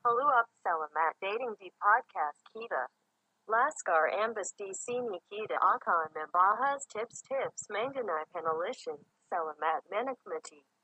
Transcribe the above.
Haluap Selamat Dating di Podcast Kita. Laskar Ambas di Sini Kita akan membahas tips-tips mengenai penalisan. Selamat menikmati.